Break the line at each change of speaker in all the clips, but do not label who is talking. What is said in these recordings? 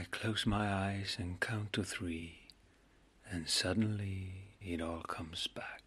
I close my eyes and count to 3, and suddenly it all comes back.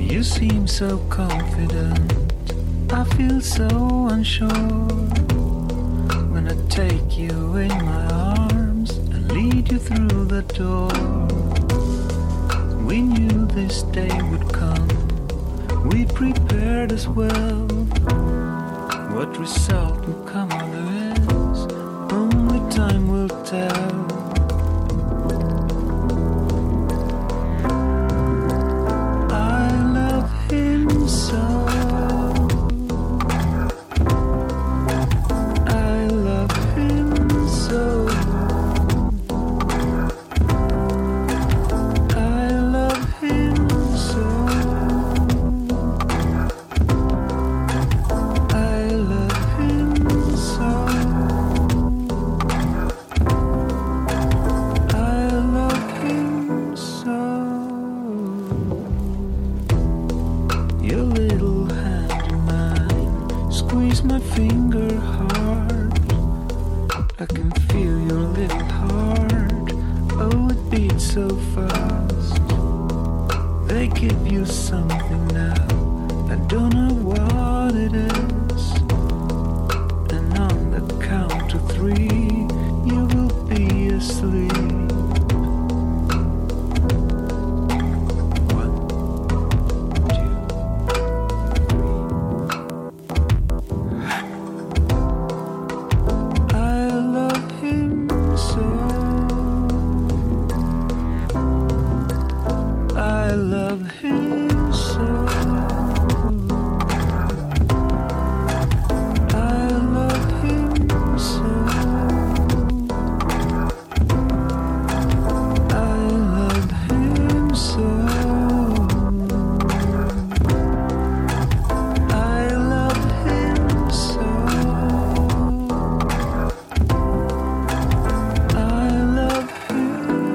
You seem so confident, I feel so unsure when I take you in my arms and lead you through the door. We knew this day would come, we prepared as well. What result will come out of this, only time will tell. I love him so, I love him so, I love him so, I love him so, I love him so. Your little hand in mine, squeeze my finger hard. I can feel your little heart, oh it beats so fast. They give you something now, I don't know what it is. And on the count of 3, you will be asleep. 1, 2, 3. I love him so, I love him so, I love him so, I love him so, I love him so, I love him.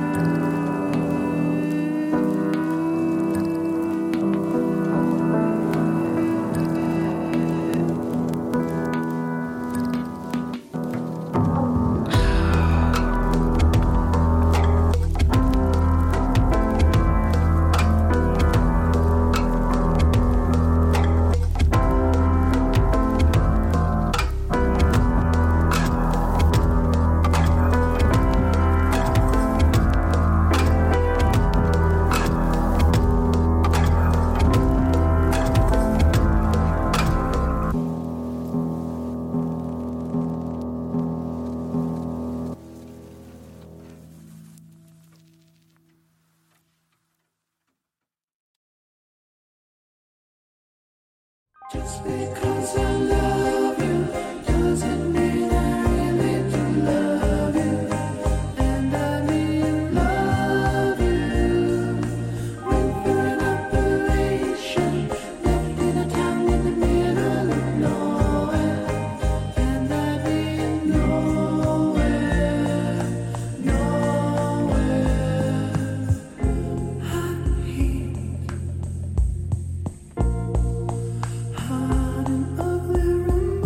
Just because I love you doesn't mean I really do love you. And I mean love you. Went through an operation, left in a town in the middle of nowhere. And I mean nowhere, nowhere. Hot heat, hot and ugly room.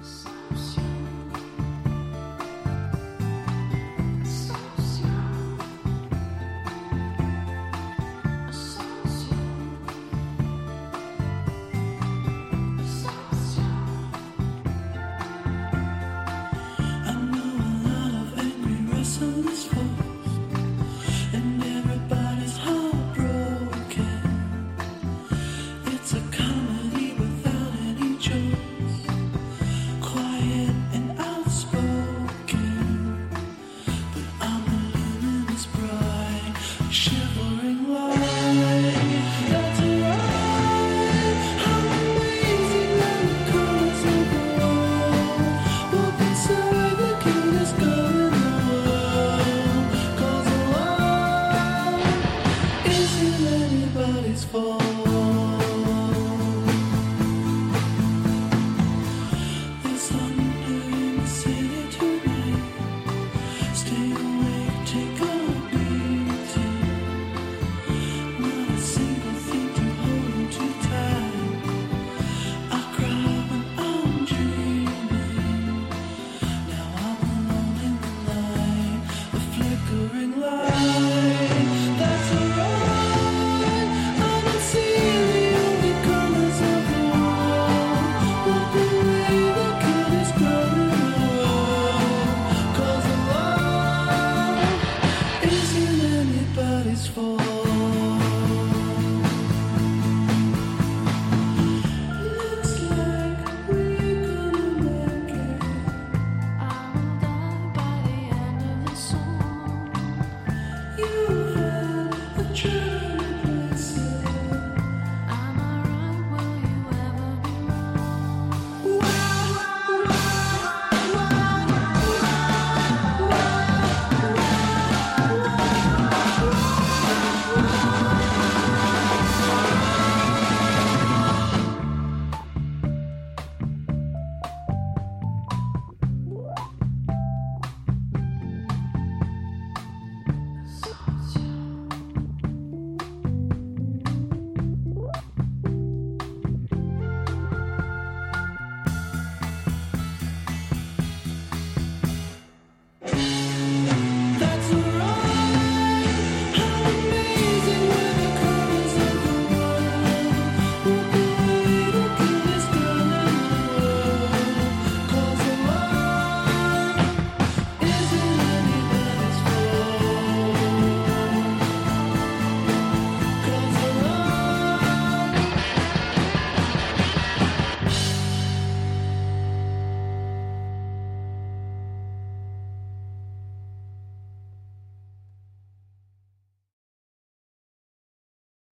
us.